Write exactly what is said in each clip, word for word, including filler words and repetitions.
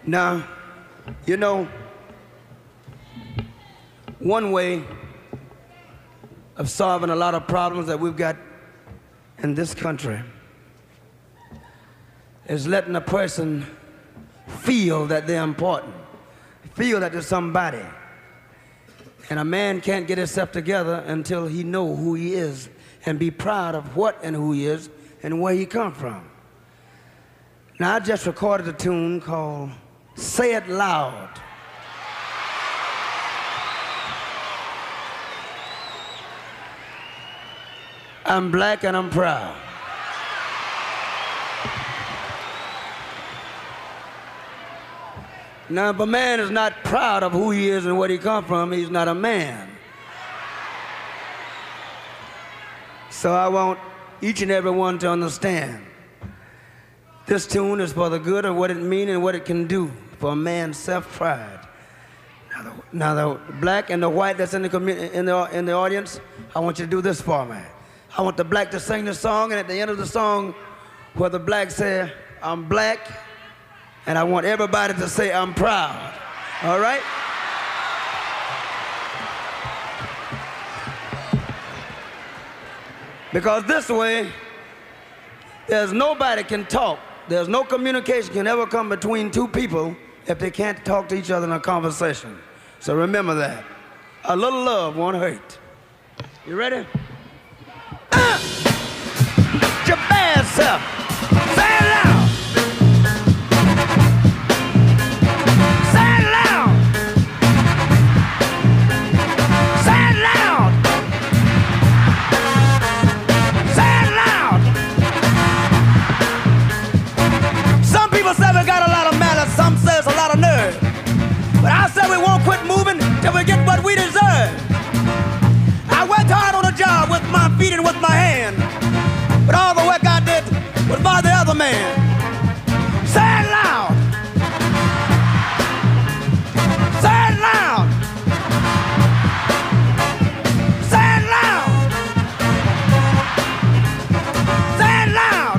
Now, you know, one way of solving a lot of problems that we've got in this country is letting a person feel that they're important, feel that they're somebody. And a man can't get himself together until he know who he is and be proud of what and who he is and where he come from. Now, I just recorded a tune called Say It Loud. I'm black and I'm proud. Now, if a man is not proud of who he is and where he come from, he's not a man. So I want each and every one to understand this tune is for the good of what it means and what it can do for a man's self-pride. Now the, now the black and the white that's in the, in, the, in the audience, I want you to do this for me. I want the black to sing the song, and at the end of the song, where the black say, I'm black, and I want everybody to say, I'm proud. All right? Because this way, there's nobody can talk. There's no communication can ever come between two people if they can't talk to each other in a conversation. So remember that. A little love won't hurt. You ready? Uh, your bad self. Say it loud. Say it loud. Say it loud. Say it loud. Some people say we got a lot of malice, some say it's a lot of nerve. But I say we won't quit moving till we get what we deserve. I worked hard on the job with my feet and with my hand, but all the work I did was by the other man. Say it loud. Say it loud. Say it loud. Say it loud.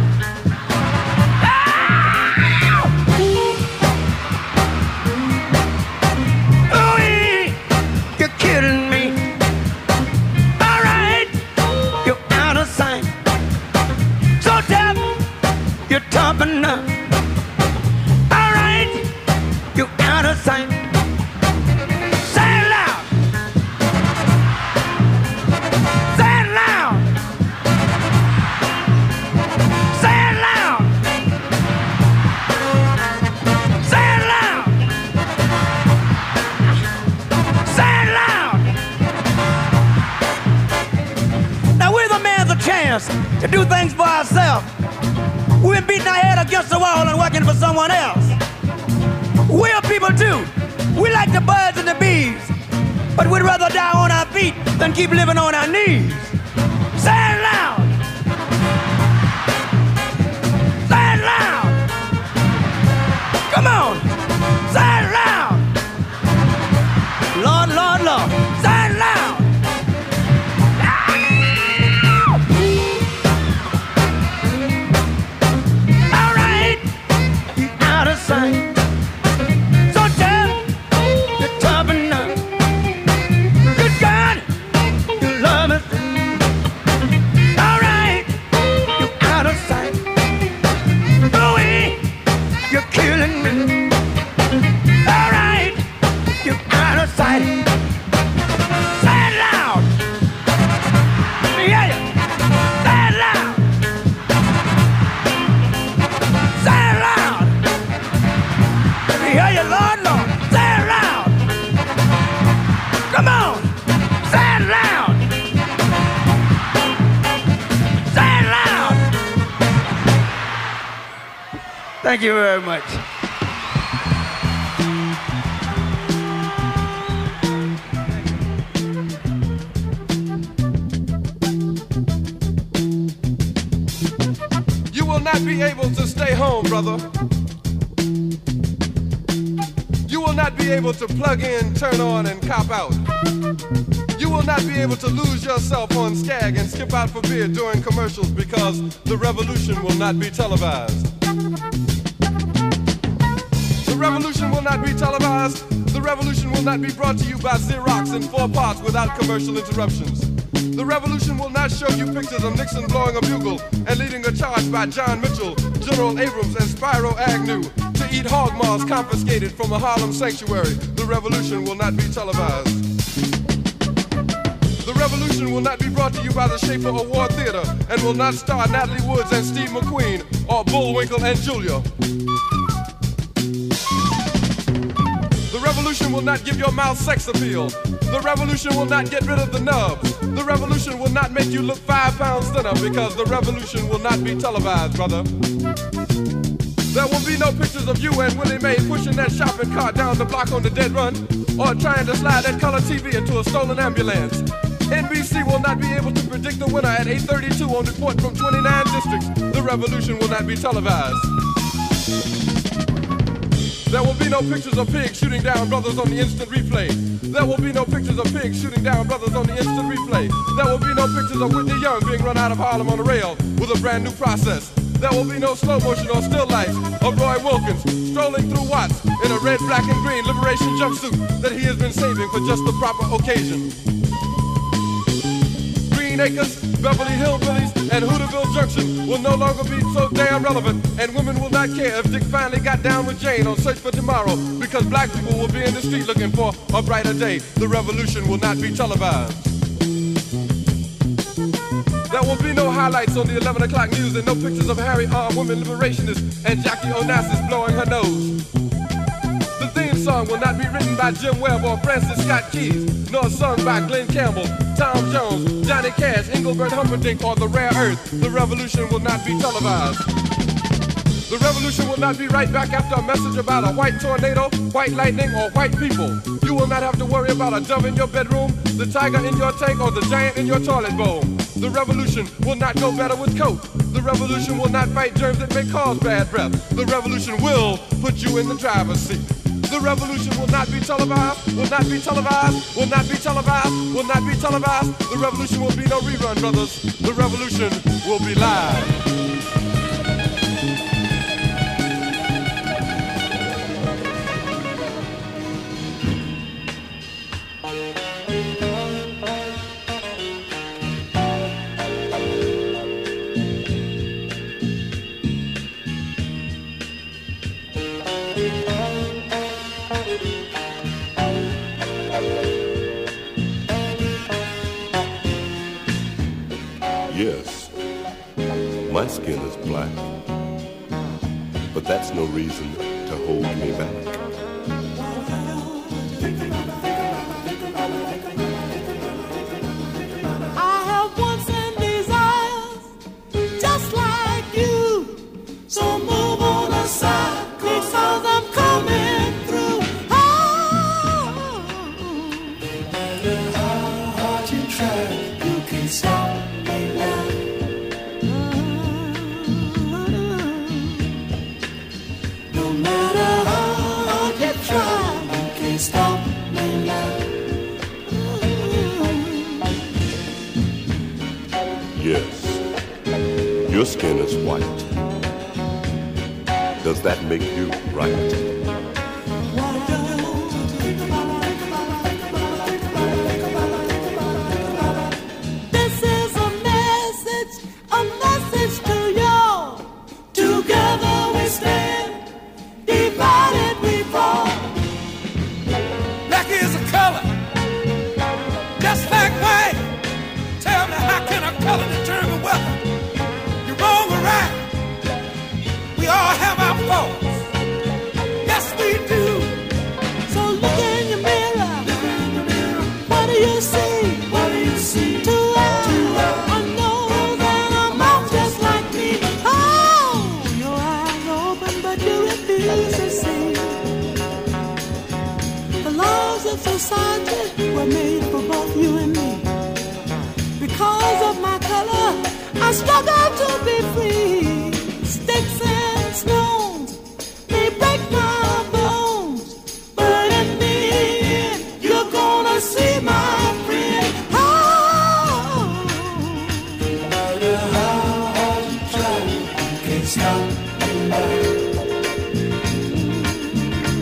Ooh, you're kidding me. All right, you're out of sight. So tough, you're topping up. All right, you're out of sight. Say it loud. Say it loud. Say it loud. Say it loud. Say it loud. Now we're the man's a chance to do things for ourselves. We've been beating our head against the wall and working for someone else. We're people too. We like the birds and the bees, but we'd rather die on our feet than keep living on our knees. Say it loud. Say it loud. Come on. Say it loud. Lord, Lord, Lord. Say it loud. All right. You're out of sight. So tough, you're topping up. Good God, you love it. All right, you're out of sight. Ooh, you're killing me. All right, you're out of sight. Say it loud. Let me hear you. Say it loud. Say it loud. Let me hear you, Lord, Lord. Say it loud. Come on. Say it loud. Say it loud. Thank you very much. You will not be able to stay home, brother. You will not be able to plug in, turn on, and cop out. You will not be able to lose yourself on Skag and skip out for beer during commercials because the revolution will not be televised. The revolution will not be televised. The revolution will not be brought to you by Xerox in four parts without commercial interruptions. The revolution will not show you pictures of Nixon blowing a bugle and leading a charge by John Mitchell, General Abrams, and Spyro Agnew to eat hog maws confiscated from a Harlem sanctuary. The revolution will not be televised. The revolution will not be brought to you by the Schaefer Award Theater and will not star Natalie Woods and Steve McQueen or Bullwinkle and Julia. The revolution will not give your mouth sex appeal. The revolution will not get rid of the nubs. The revolution will not make you look five pounds thinner because the revolution will not be televised, brother. There will be no pictures of you and Willie Mae pushing that shopping cart down the block on the dead run or trying to slide that color T V into a stolen ambulance. N B C will not be able to predict the winner at eight thirty-two on report from twenty-nine districts. The revolution will not be televised. There will be no pictures of pigs shooting down brothers on the instant replay. There will be no pictures of pigs shooting down brothers on the instant replay. There will be no pictures of Whitney Young being run out of Harlem on a rail with a brand new process. There will be no slow motion or still lights of Roy Wilkins strolling through Watts in a red, black, and green liberation jumpsuit that he has been saving for just the proper occasion. Green Acres, Beverly Hillbillies, and Hooterville Junction will no longer be so damn relevant, and women will not care if Dick finally got down with Jane on Search for Tomorrow, because black people will be in the street looking for a brighter day. The revolution will not be televised. There will be no highlights on the eleven o'clock news and no pictures of Harry armed women liberationists and Jackie Onassis blowing her nose. The theme song will not be written by Jim Webb or Francis Scott Keys, nor sung by Glenn Campbell, Tom Jones, Johnny Cash, Engelbert Humperdinck, or The Rare Earth. The revolution will not be televised. The revolution will not be right back after a message about a white tornado, white lightning, or white people. You will not have to worry about a dove in your bedroom, the tiger in your tank, or the giant in your toilet bowl. The revolution will not go better with coke. The revolution will not fight germs that may cause bad breath. The revolution will put you in the driver's seat. The revolution will not be televised, will not be televised, will not be televised, will not be televised. The revolution will be no rerun, brothers. The revolution will be live. Yes, my skin is black, but that's no reason to hold me back. I have wants and desires just like you, so move on aside because I'm coming through. Oh, no matter how hard you try, you can't stop. Stop me now. Yes, your skin is white. Does that make you right? This is a message, a message to you. Together we stand, divided we fall. Is a color, just like white. Tell me, how can a color determine whether you're wrong or right? We all have our faults. Yes, we do. So look in your mirror. What do you see? What do you see? Two eyes, a nose, and a mouth just like me. Oh, your eyes are open, but you refuse to see. The laws of society were made for both you and me. Because of my color, I struggle to be free. Sticks and stones may break my bones, but in the end, you're gonna see my friend. Oh, no matter how hard you try, you can't stop me now.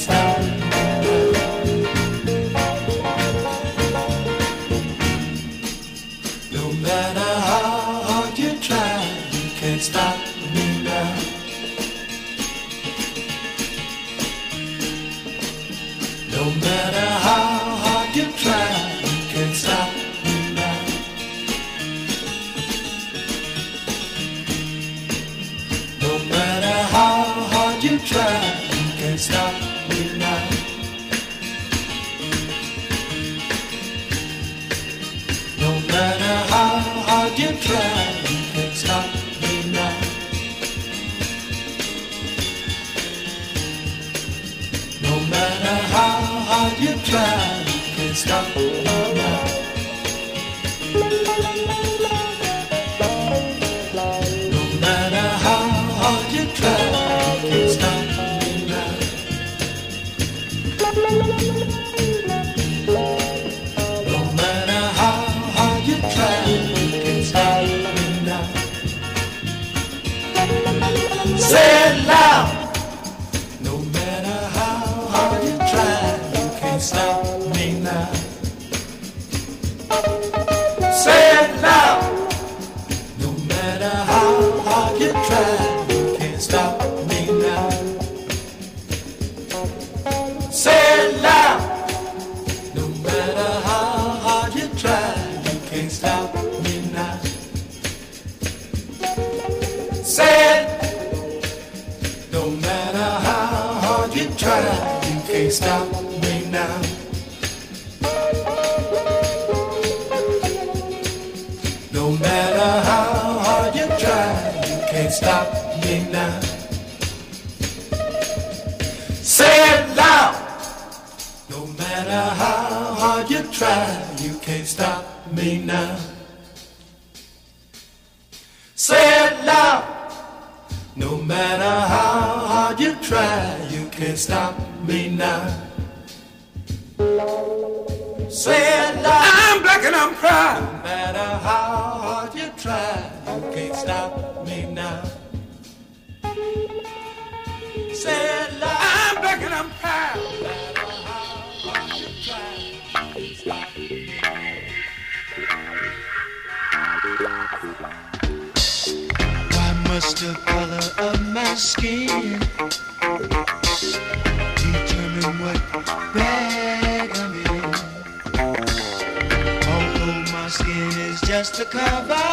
stop me now. No matter how hard you try, you can't stop me now. No matter how hard you try, you can't stop me now. No matter how hard you try, you can't stop me now. No matter how hard you try, you can't stop me now. No matter how hard you try, you can't stop me now. No matter how hard you try, you can't stop me now. No matter how hard you try, you can't stop me now. Say it loud. No matter how hard you try, you can't stop me now. Say it loud. No matter how hard you try, you can't stop me now. Say it loud. No matter how hard you try, you can't stop me now. Say it. No matter how hard you try, you can't stop me now. No matter how hard you try, you can't stop me now. Say it loud. No matter how hard you try, you can't stop me now. Say it loud. No matter how hard you try, you can't stop me now. Say it loud. I'm black and I'm proud. No matter how hard you try, you can't stop me now. Say it loud. I'm black and I'm proud. No matter how hard you try, you can't stop me Why must the color of my skin determine what bag I'm in? Although my skin is just a cover,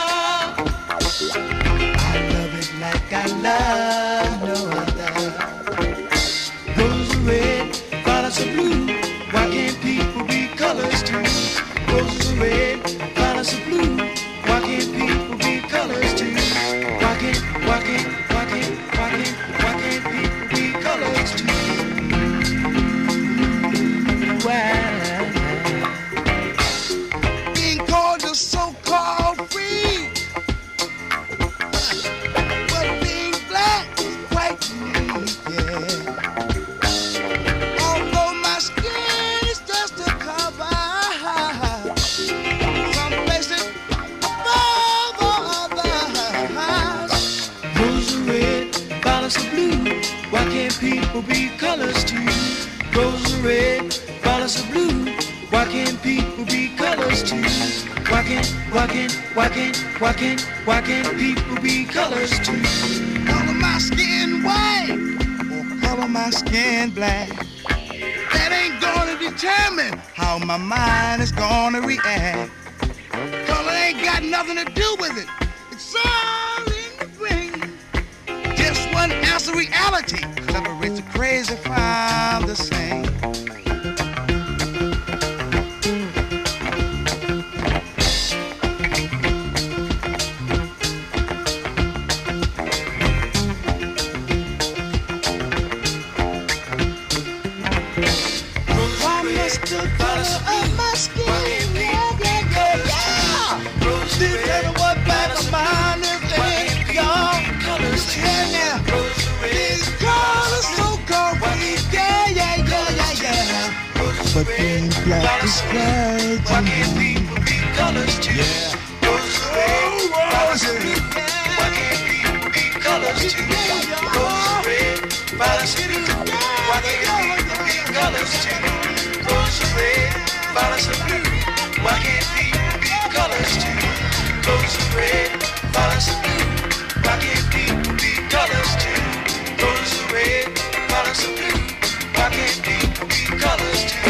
I love it like I love no other. Roses are red, violets are blue. Why can't people be colors too? Roses are red, violets are blue. Why can't people be colors too? Why can't, why can't, why can't, why can't, why can't people be colors too? Why? Being called the so-called free, but being black is quite unique, yeah. Although my skin is just a cover, some places above others. Roses are red, violets are blue. Why can't people be colors too? Roses are red, violets are blue. Why can't people be colors too? Why can't, why can't, why can't, why can't, why can't people be colors too? Color my skin white or color my skin black. That ain't gonna determine how my mind is gonna react. Color ain't got nothing to do with it. It's all in the brain. Just one ounce of reality separates the crazy from the sane. Why must the color of my skin, yeah, yeah, yeah, yeah. Determine what bad of mine is in y'all. Yeah, now. These colors so called weak, yeah, yeah, yeah, yeah, yeah. But being black is right. Why can't people be colors too? Yeah. Roses are red, violets are blue. Why can't people be colors too? Roses are red, violets are blue. Why can't colors too? Rose are red, violets are blue. Why can't people be colors too? Rose are red, violets are blue. Why can't people be colors too? Rose are red, violets are blue. Why can't people be colors too?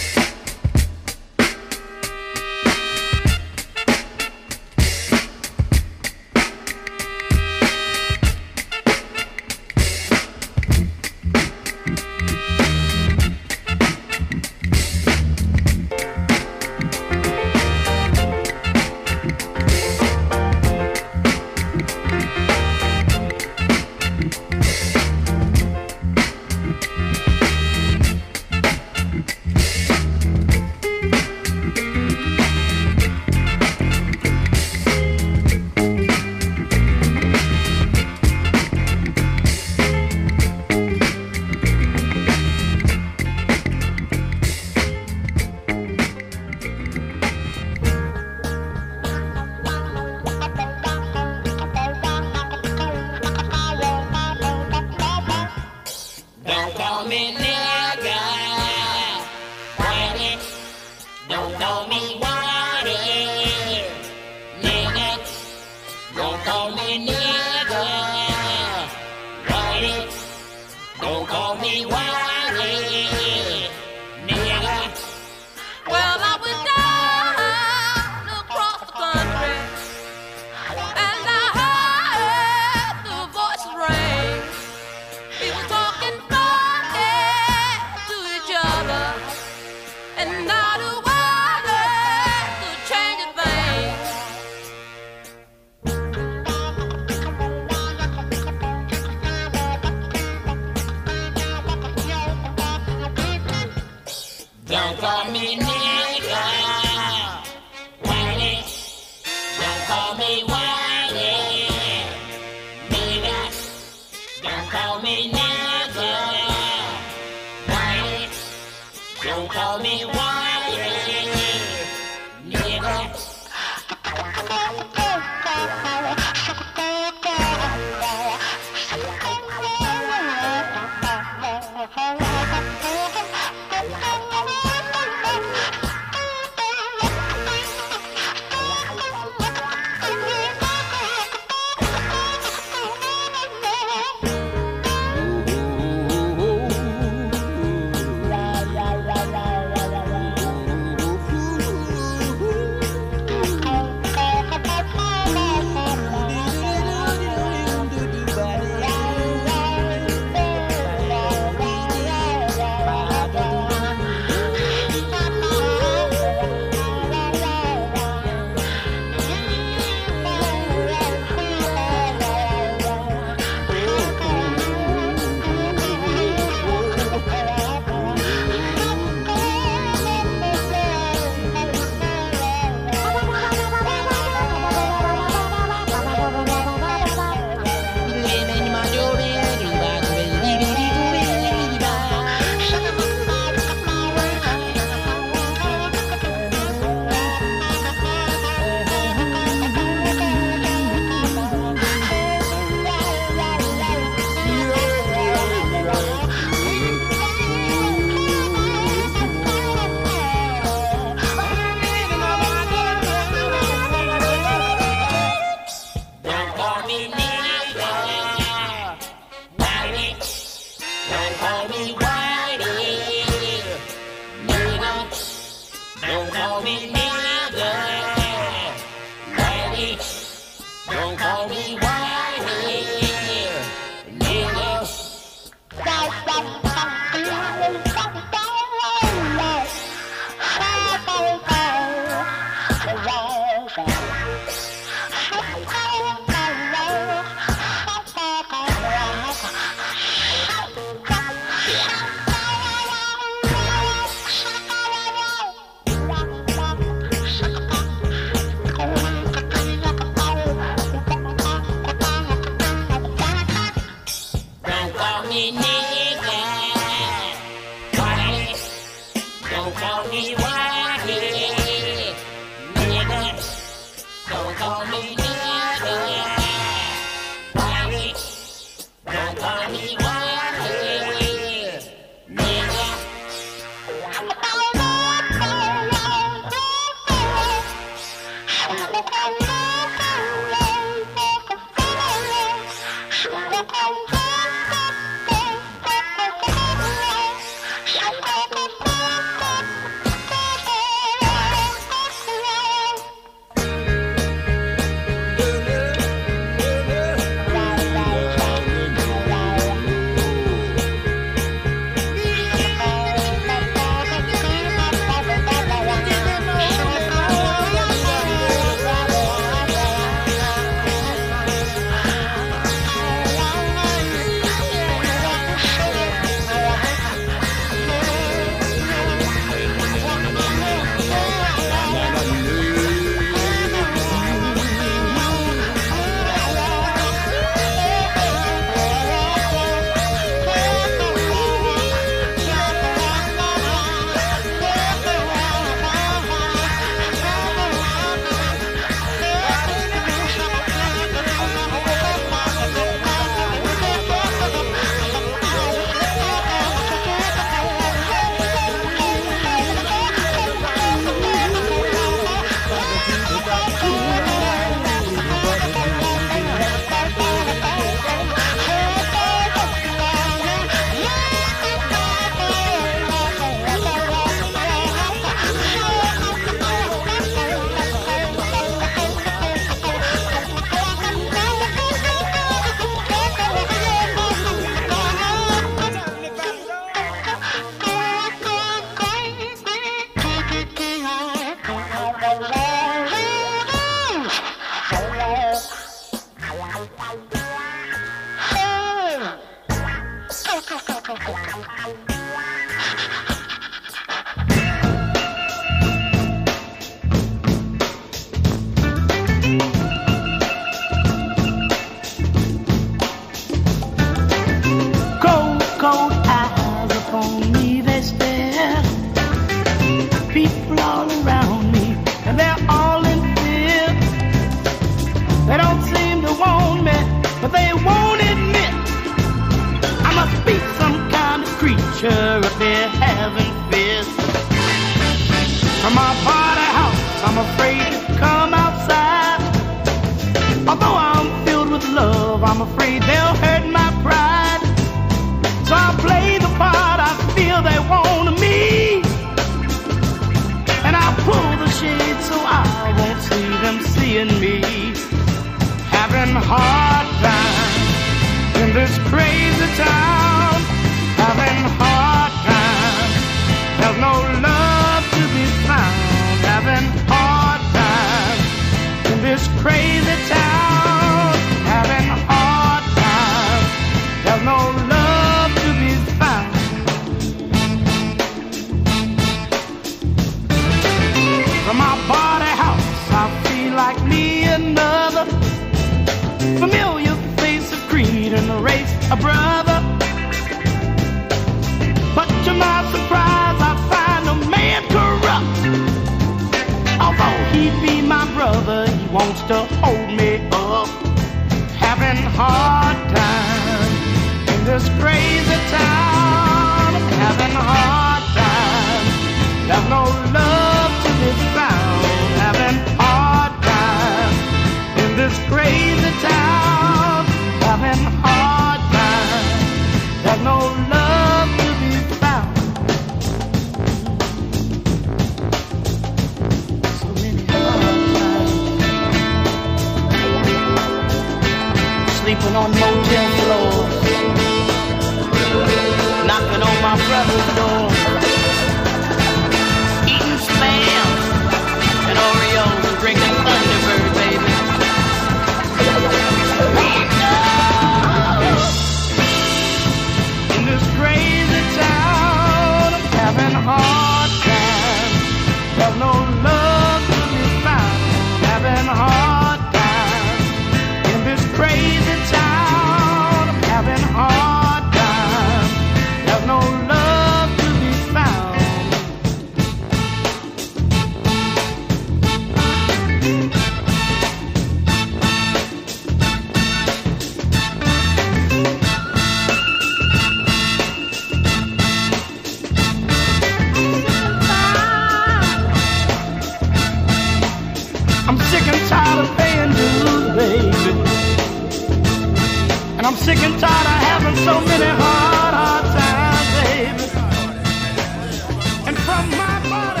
I'm sick and tired of having so many hard, hard times, baby. And from my body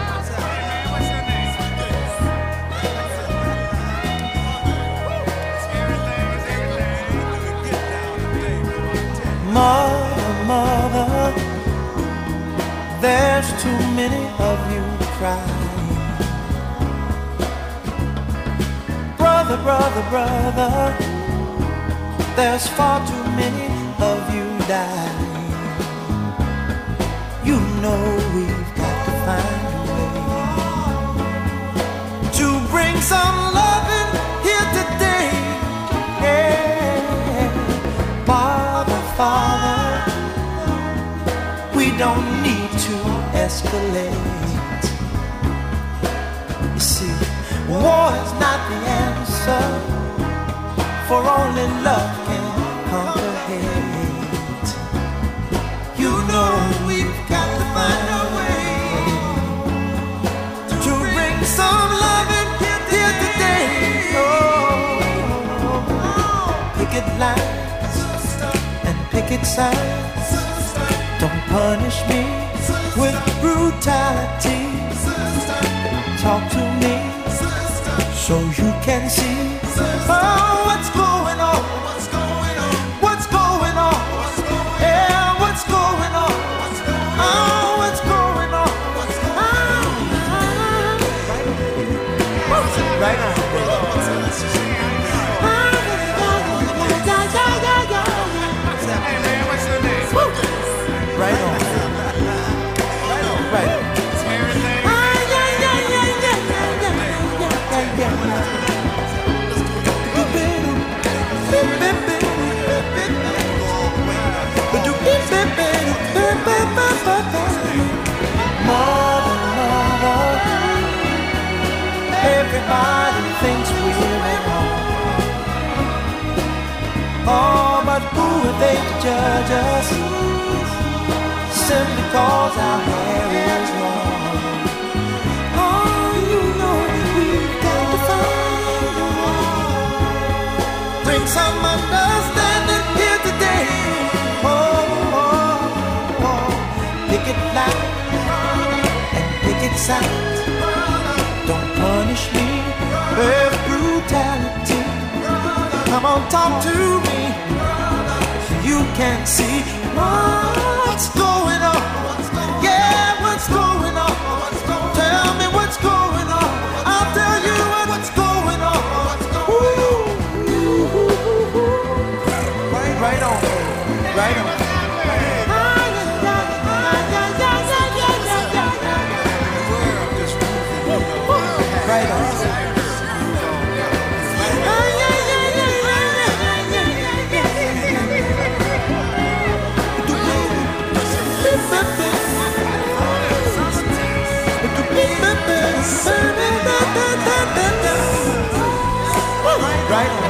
Mother, mother, there's too many of you crying. Brother, brother, brother, there's far too many of you dying. You know we've got to find a way to bring some loving here today. Yeah. Father, Father, we don't need to escalate. You see, war is not the answer, for only love can conquer hate. You know we've got to find a way to bring some loving here today. Oh, picket lines and picket signs, don't punish me with brutality. Talk to me so you can see, oh, what's going on, what's going on, yeah, what's going on, oh, what's going on, oh, right on. Right on. Right on. Right on. Mother, mother, everybody thinks we're at home. Oh, but who are they to judge us? Simply cause our hair is long. Oh, you know we've got to find a way. Bring some understanding here today. Oh, oh, oh. Picket line and picket signs, don't punish me with brutality. Come on, talk to me so you can see what's going on. Yeah, what's going on? Tell me what's going on. I'll tell you what's going on. Ooh. Right on, right on. Right on. Right on.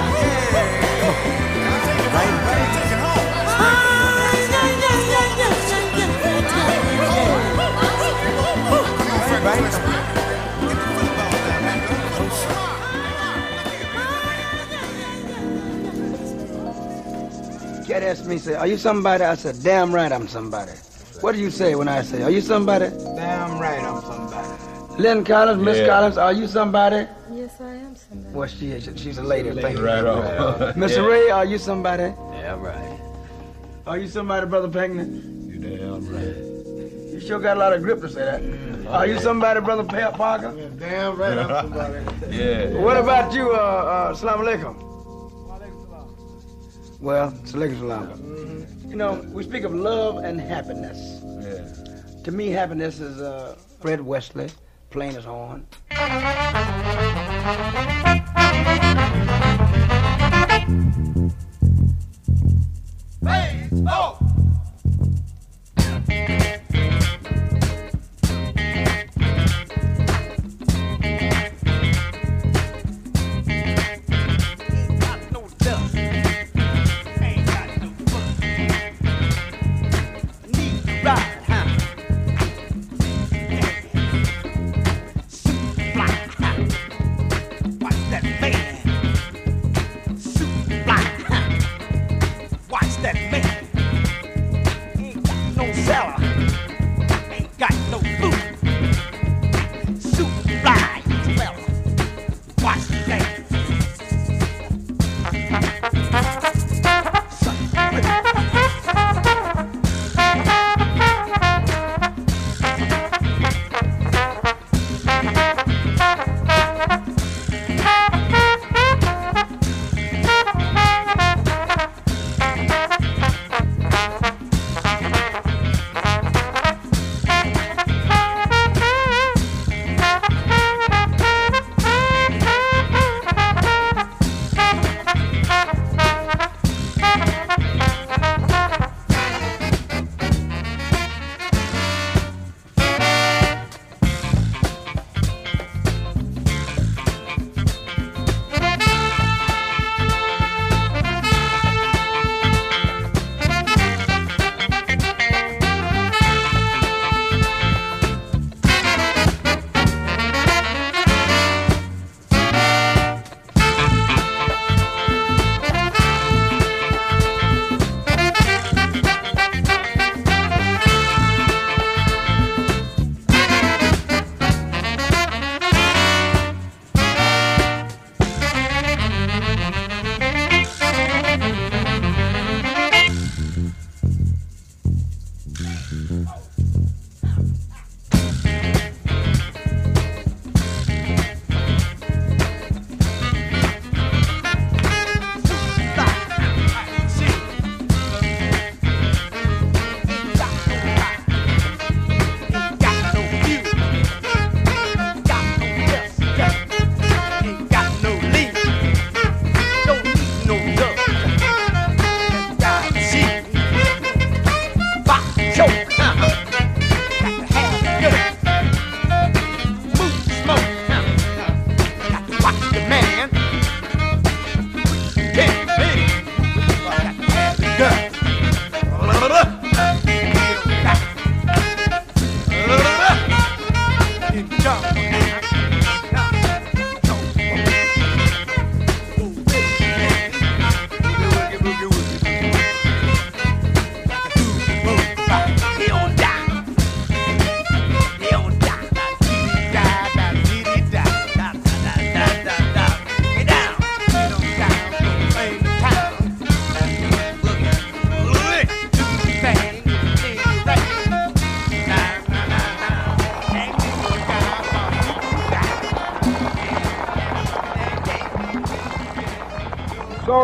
Right, right. Cat asked me, say, are you somebody? I said, damn right I'm somebody. What do you say when I say, are you somebody? Damn right I'm somebody. Lynn Collins, Miss Yeah. Collins, are you somebody? Yes, I am somebody. Well, she is. She's a lady. Thank you. Right on. Mister Yeah. Ray, are you somebody? Yeah, right. Are you somebody, Brother Pankney? You damn right. You sure got a lot of grip to say that. Are you somebody, Brother Pa- Parker? Damn right I'm somebody. Yeah. What about you, uh, uh, Assalamu alaikum? Well, Salaikum salam. You know, we speak of love and happiness. Yeah. To me, happiness is uh, Fred Wesley, playing his horn. Hey, oh!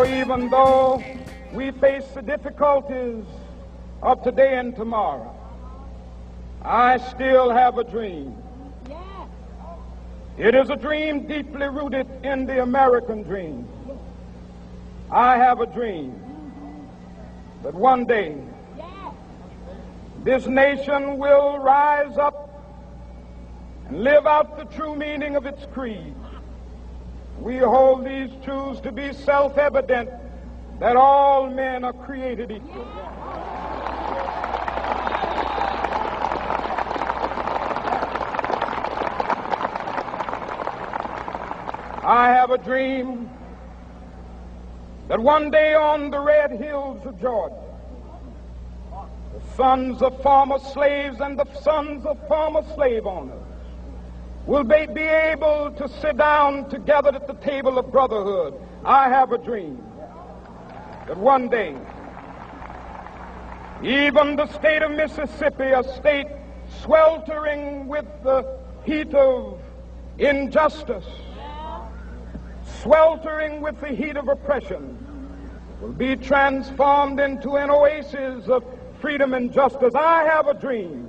know, even though we face the difficulties of today and tomorrow, I still have a dream. It is a dream deeply rooted in the American dream. I have a dream that one day this nation will rise up and live out the true meaning of its creed. We hold these truths to be self-evident, that all men are created equal. I have a dream that one day on the red hills of Georgia, the sons of former slaves and the sons of former slave owners will be, be able to sit down together at the table of brotherhood. I have a dream that one day, even the state of Mississippi, a state sweltering with the heat of injustice, sweltering with the heat of oppression, will be transformed into an oasis of freedom and justice. I have a dream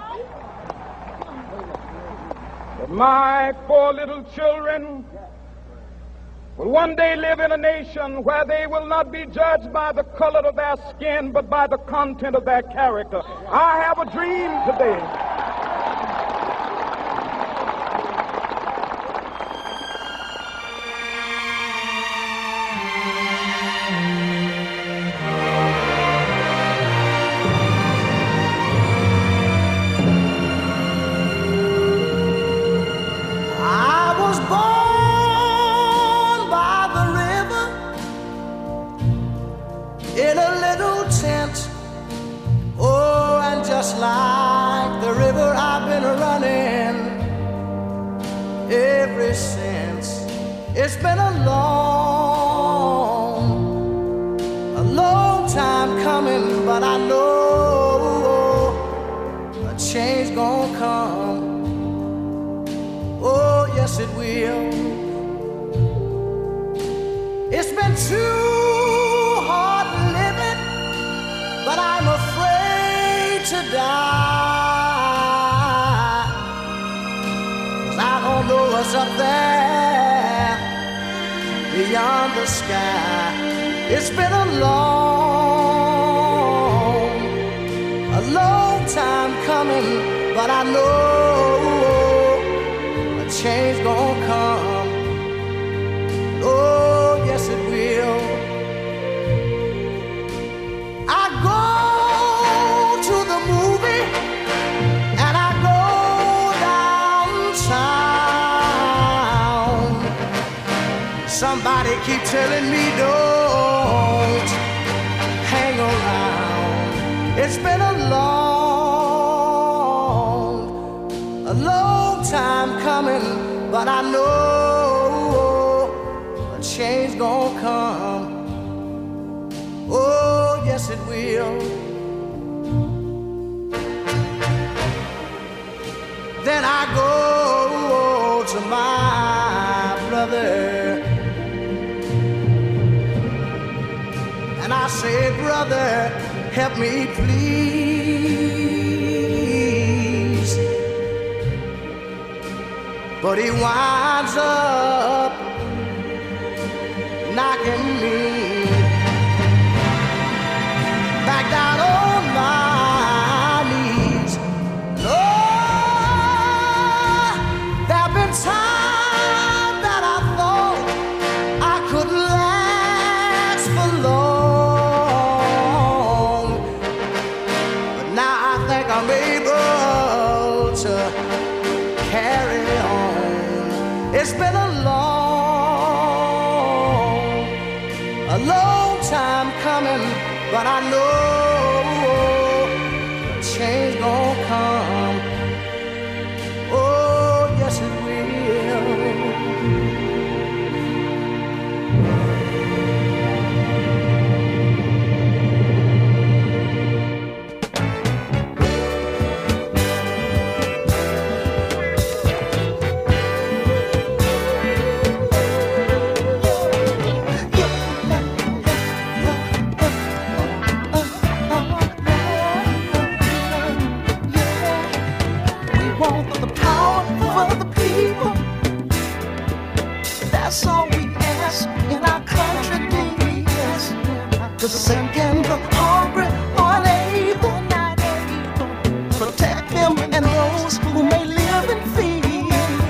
that my four little children will one day live in a nation where they will not be judged by the color of their skin, but by the content of their character. I have a dream today. Just like the river, I've been running ever since. It's been a long, a long time coming, but I know a change gonna come. Oh, yes, it will. It's been too hard living, but I'm afraid to die, 'cause I don't know what's up there beyond the sky. It's been a long, a long time coming, but I know a change gonna come. Oh, yes it will. I go to the movie and I go downtown. Somebody keep telling me don't hang around. It's been a long, a long time coming, but I know a change gonna come. Oh, yes it will. Then I go to my brother and I say, brother, help me please. But he winds up knocking me back down on my knees. Lord, there've been times that I thought I couldn't last for long, but now I think I'm able to carry on. It's been a long, a long time coming, but I know a change gonna come. Oh, yes it will. the sick and the hungry, unable. Protect them and those who may live in fear.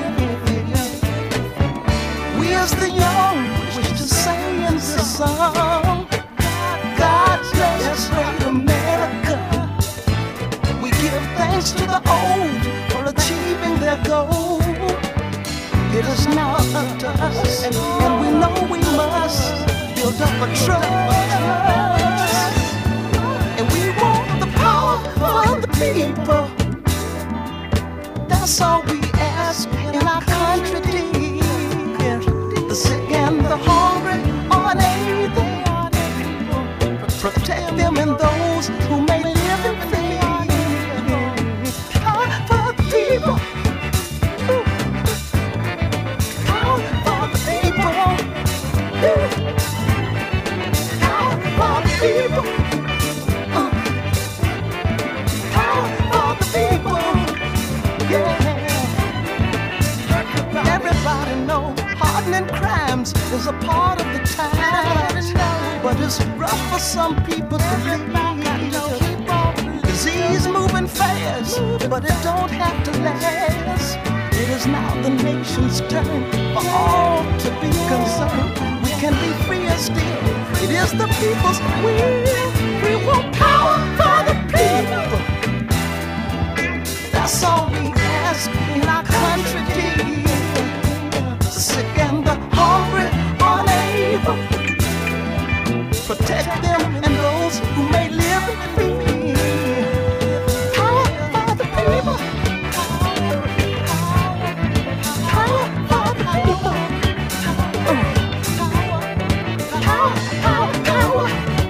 We as the young wish to say in this song, God bless great America. We give thanks to the old for achieving their goal. It is now up to us, and we know we must build up a trust. And we want the power for the people. That's all we ask in our country, dear. The sick and the hungry, unable. Protect them and those who may live in fear. Power for the people. Power for the people. Power for the people. Power for the people. Yeah. Everybody know hardening crimes is a part of the times, but it's rough for some people to live. Disease moving fast, but it don't have to last. It is now the nation's turn for all to be concerned. We can be free and still. It is the people's will. We want power for the people. That's all we ask in our country, dear. The sick and the hungry, unable. Protect them and those who may live in fear. Power for the people. Power for the people. Power, power, power.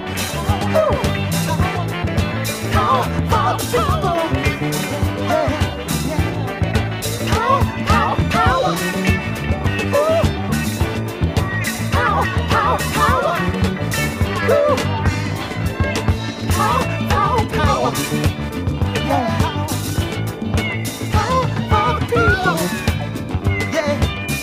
Power for the people. Power, power, power. Power, power, power. Power, power, power. Power for the people. Yeah.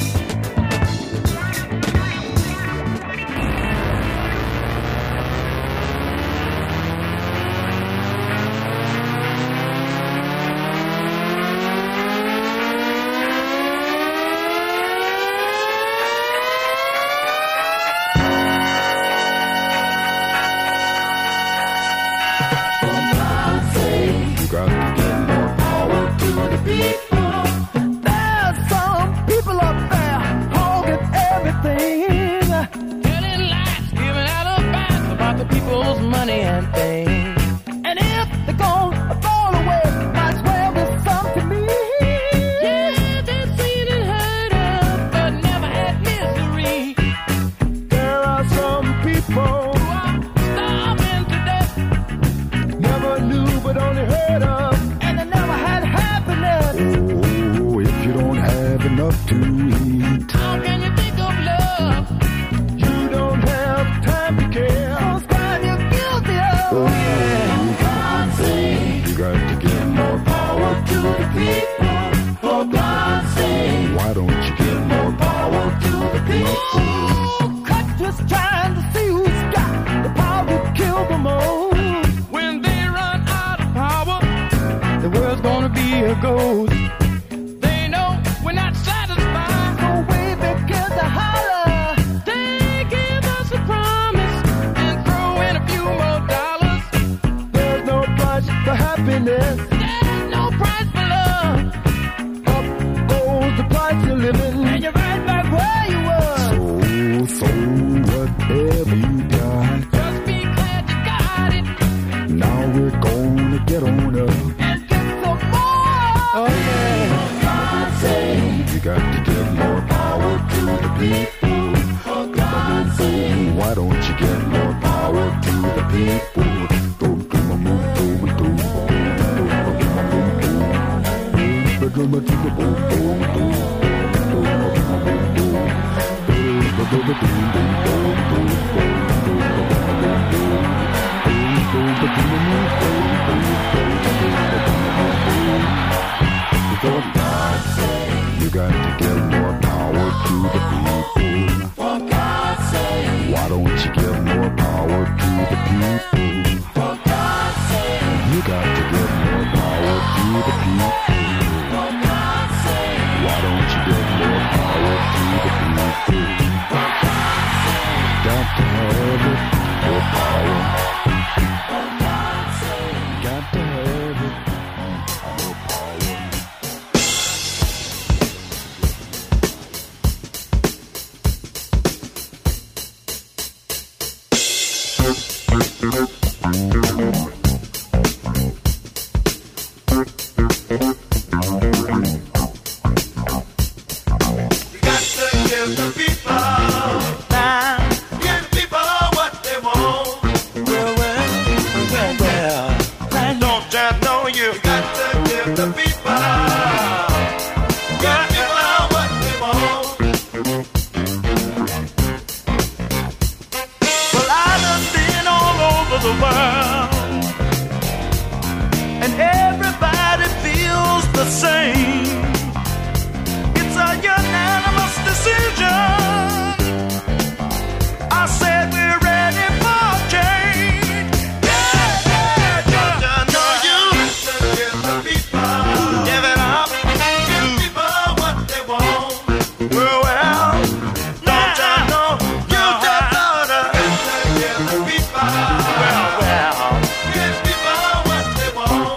You got to give more power to the people. For God's sake. Why don't you give more power to the you got to give the people, give people what they want. Well, I done been all over the world, and everybody feels the same. It's a unanimous decision. I said we're ready for change. Yeah, yeah, yeah. Don't you know you give the people, give it up, give people what they want. Well, well, don't you know you just oughta give the people, well, well, give people what they want.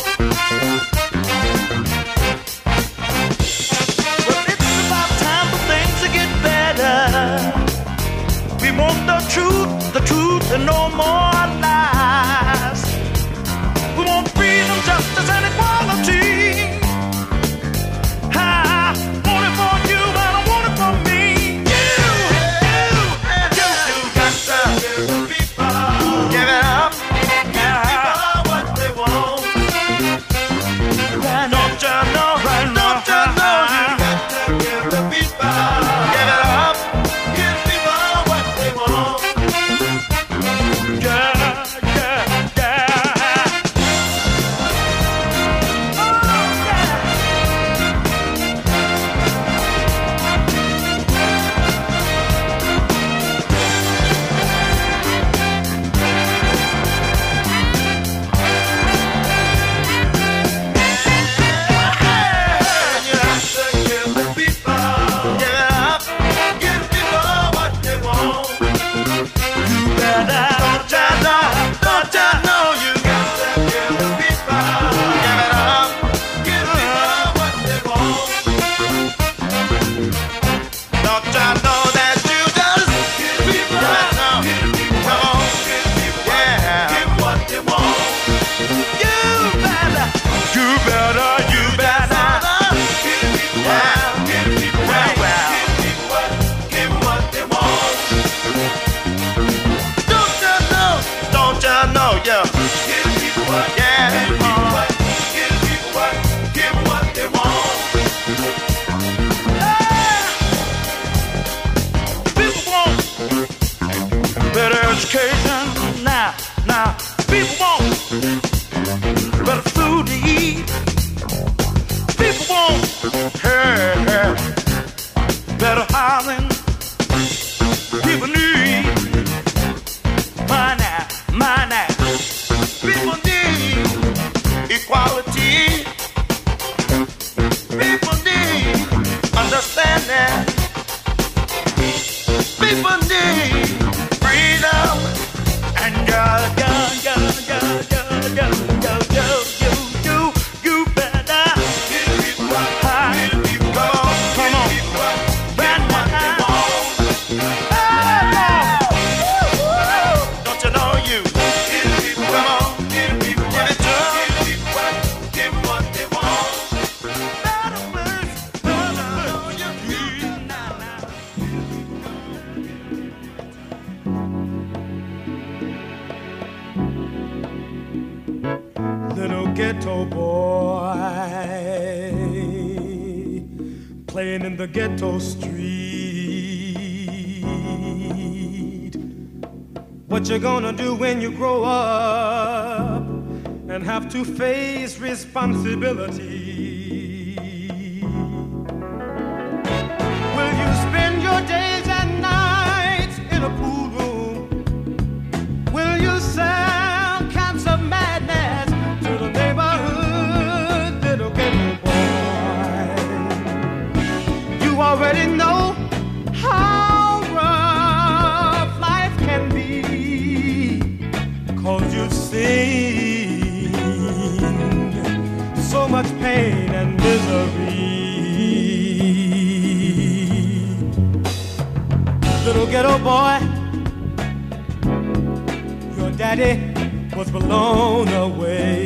Well, it's about time for things to get better. We want the truth, the truth, and no more lies. We want freedom, justice, and equality. I want it for you, and I want it for me. You, you, you, you got to give the people, give it up, give people what they want. Don't you know, don't you know, you got to give the people, give it up, give people what they want. Yeah, yeah, yeah. Oh, yeah. You have to give the people, give it up, give people what they want. You better, don't you know, don't you know you got to give the people, give it up, give people what they want. Don't you know that you just give people, come on, yeah, give what they want. You better, you better, you better, yeah, well, well, give what they want. Don't you know, don't you know, yeah, give people what, yeah, give people what, give people what, give what they want. People want better education now, now. People want better food to eat. People want hey, hey, better housing. People need money, money. People need equality. People need understanding. People need freedom. And you, you, you, you, you, you, you, you, you, you, you better give people what, give people what, come on, give what they want. Don't you know you give people, come on, give people what, give it to them, give people what, give what they want. Better place, better know you need now, now. Little ghetto boy playing in the ghetto street. What you gonna do when you grow up and have to face responsibility? Will you spend your days and nights in a pool room? Will you sell cans of madness to the neighborhood little ghetto boy? You already know how rough life can be, 'cause you've seen so much pain and misery. Little ghetto boy, your daddy was blown away.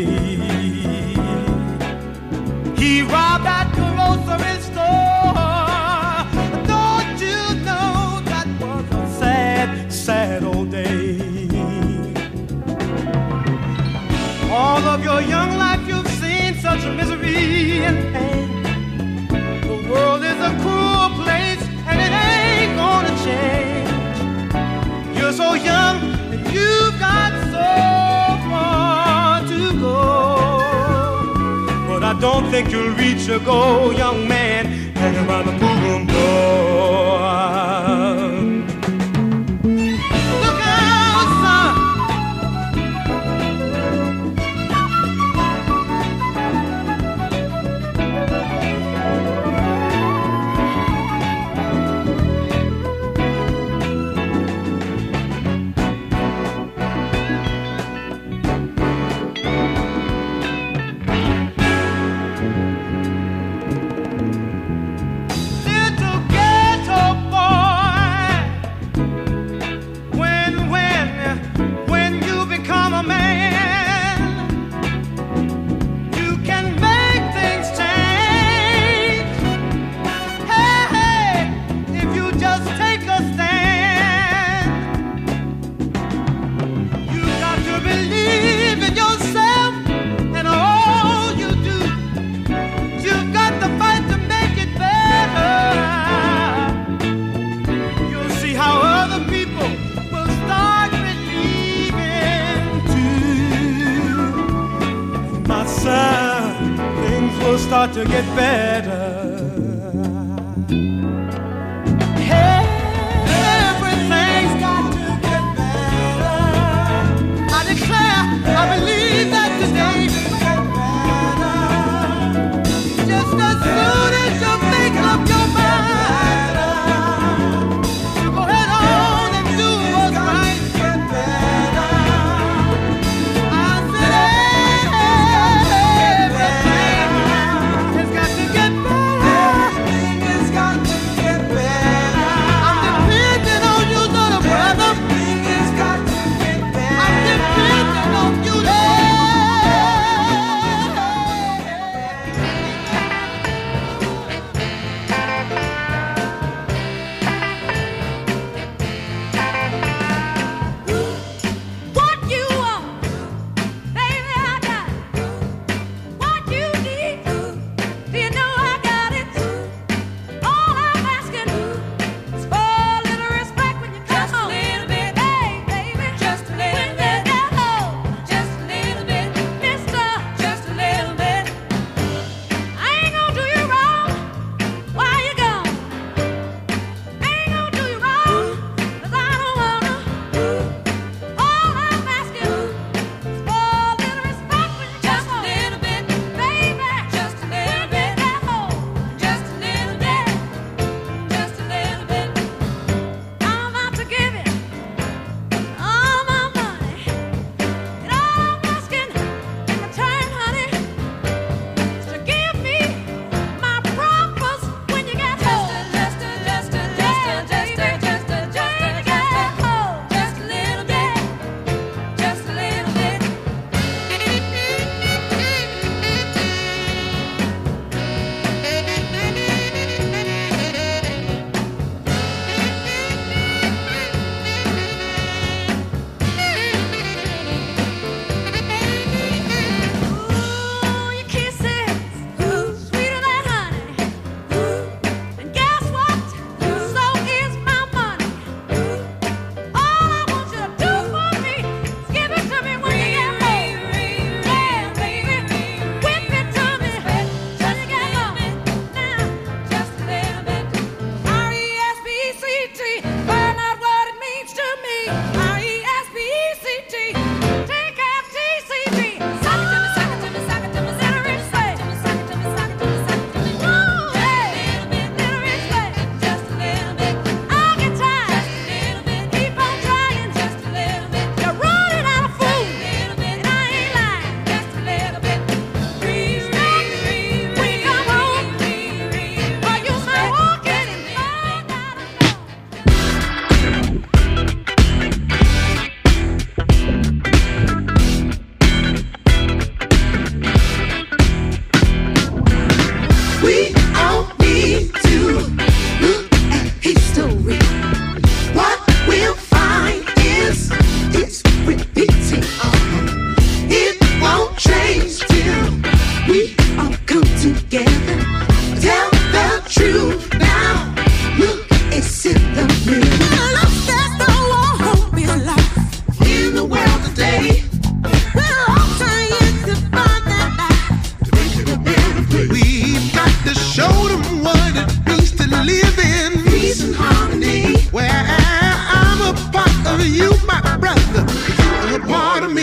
He robbed at the grocery store. Don't you know that was a sad, sad old day? All of your young life you've seen of misery and pain. The world is a cruel place and it ain't gonna change. You're so young and you've got so far to go, but I don't think you'll reach your goal, young man, hanging by the ballroom door. Look out, son. Start to get better. Hey, everything's got to get better. I declare, I believe that today will get better. Just as soon as you make up your mind, you go head on and do what's right. Get better. I said everything. Get better.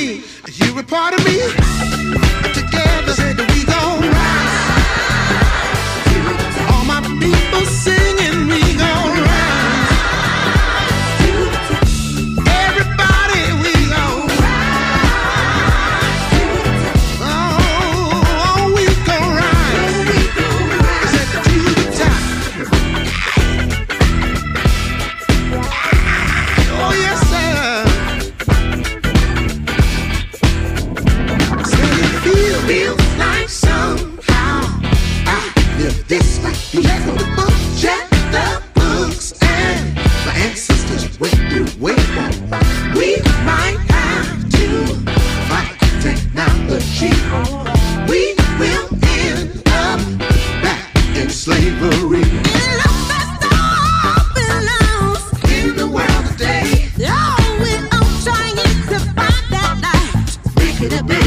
me, you a part of me. Together, said that we gon' rise. All my people singing, we gon' rise. Everybody, we gon' rise. Oh, we gon' rise. Said that to the top. Oh yes, sir. Feels like somehow I live this life. Because of the book, check the books, and my ancestors went through way back. We might have to fight technology. We will end up back in slavery. It looks as though belongs in the world today. Oh, we're all trying to find that light. Break it up.